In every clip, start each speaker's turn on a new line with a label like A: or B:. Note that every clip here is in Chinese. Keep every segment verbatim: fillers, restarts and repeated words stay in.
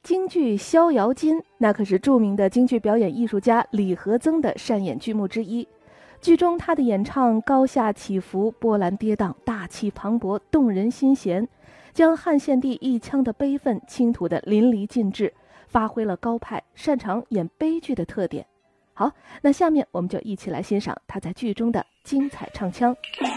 A: 京剧《逍遥津》，那可是著名的京剧表演艺术家李和曾的擅演剧目之一。剧中他的演唱高下起伏，波澜跌宕，大气磅礴，动人心弦，将汉献帝一腔的悲愤倾吐得淋漓尽致，发挥了高派擅长演悲剧的特点。好，那下面我们就一起来欣赏他在剧中的精彩唱腔。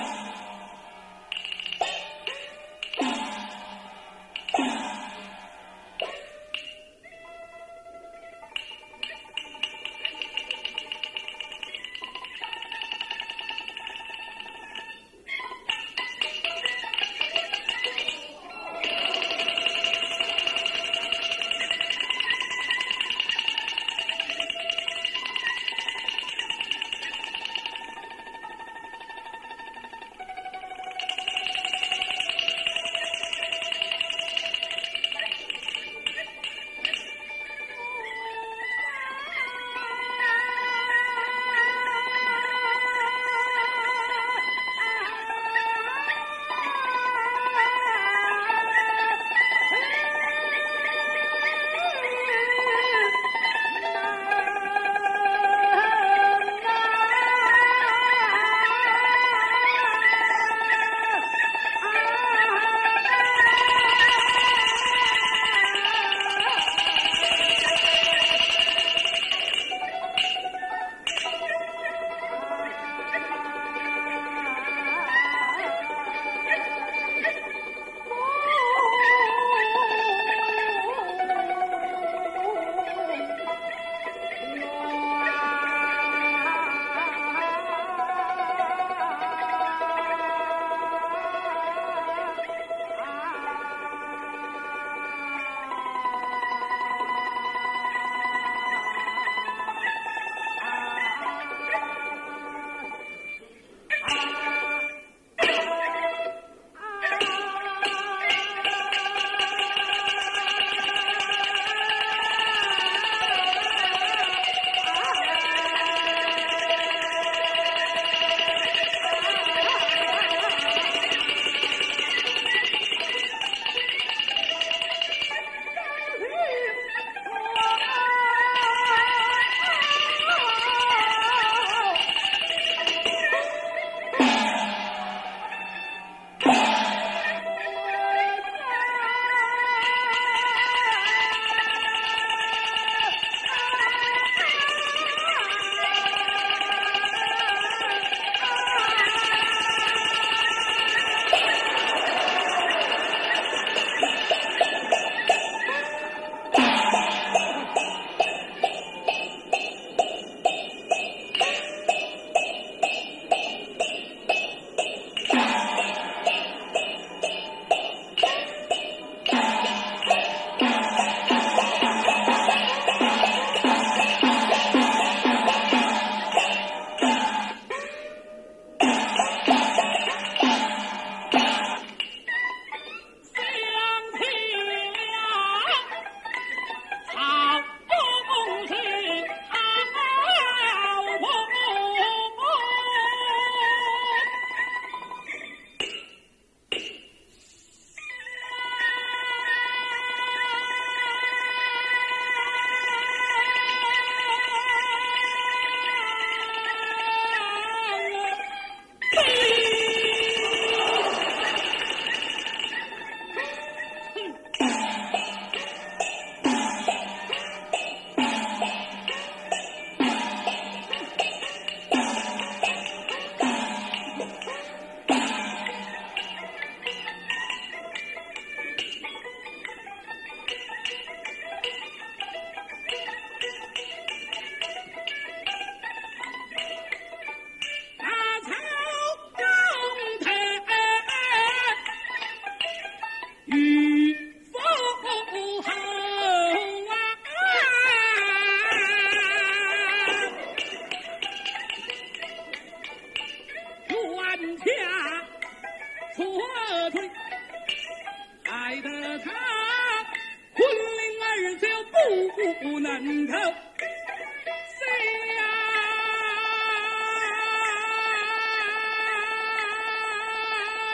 B: 不能够。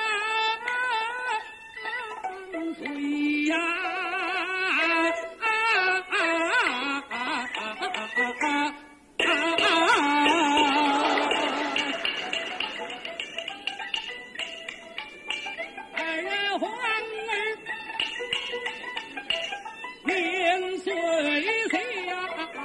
B: 水呀， 水下。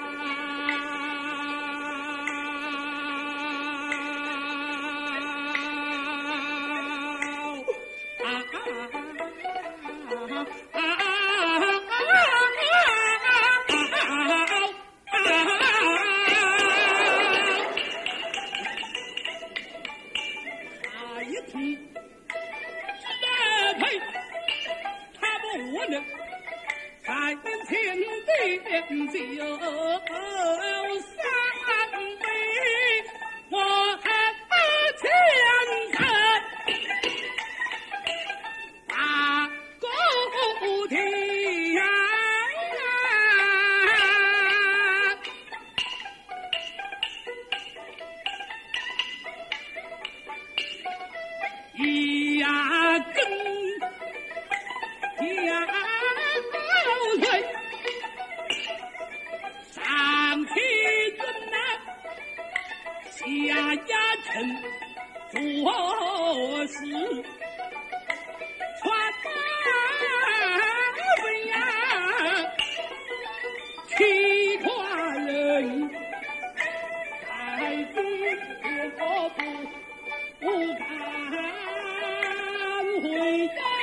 B: 三千点酒三杯，我前程大狗天呀！一呀根呀。上去准呐，下压城做事，传大文呀，七寡人，太君我不不敢回家。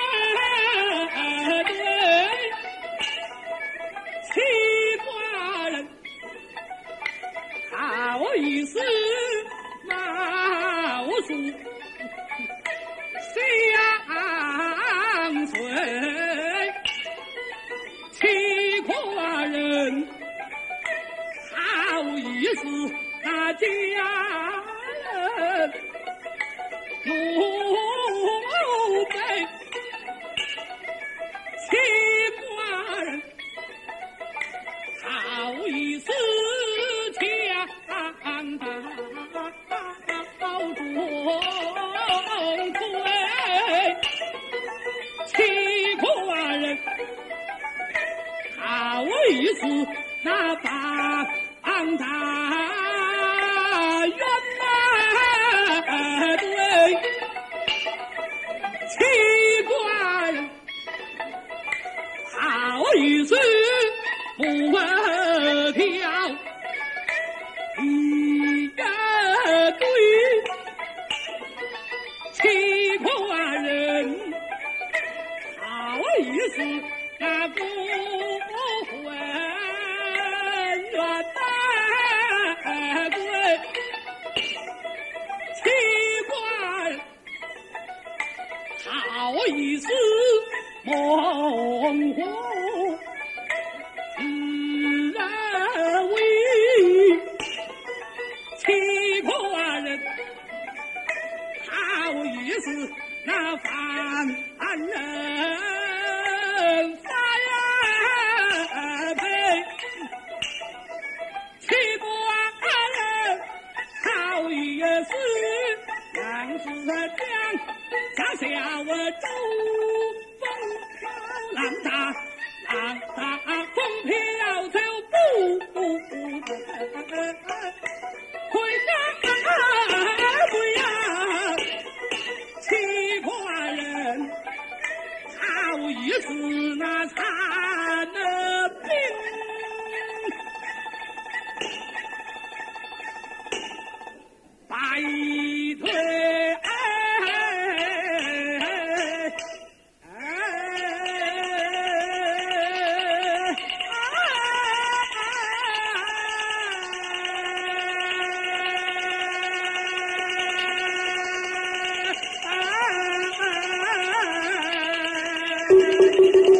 B: 好意思，冒出相随，七寡人，好意思，那家人奴婢，七寡人，好意思。七寡人，好意思，那帮大员呐，对，七寡人，好意思，不挑。一呀对，七寡人，好意思，那不混元呐对，七寡人，好意思，猛虎自然为。七寡人，好意思，那犯人发呀配。七寡人，好意思，杨子江下下我周风浪大，浪大风飘就不回家回呀，七寡人，好意思那惨了病，败退。Thank you.